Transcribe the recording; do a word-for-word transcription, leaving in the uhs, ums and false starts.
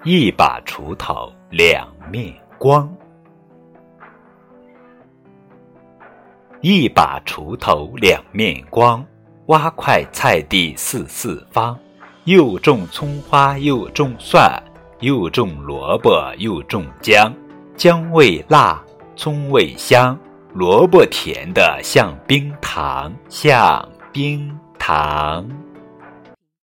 一把锄头两面光。一把锄头两面光，挖块菜地四四方。又种葱花又种蒜，又种萝卜又种姜。姜味辣，葱味香，萝卜甜得像冰糖，像冰糖。